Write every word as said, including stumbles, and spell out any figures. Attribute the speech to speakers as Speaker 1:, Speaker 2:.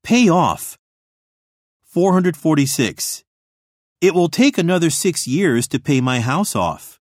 Speaker 1: Pay off. four hundred forty-six. It will take another six years to pay my house off.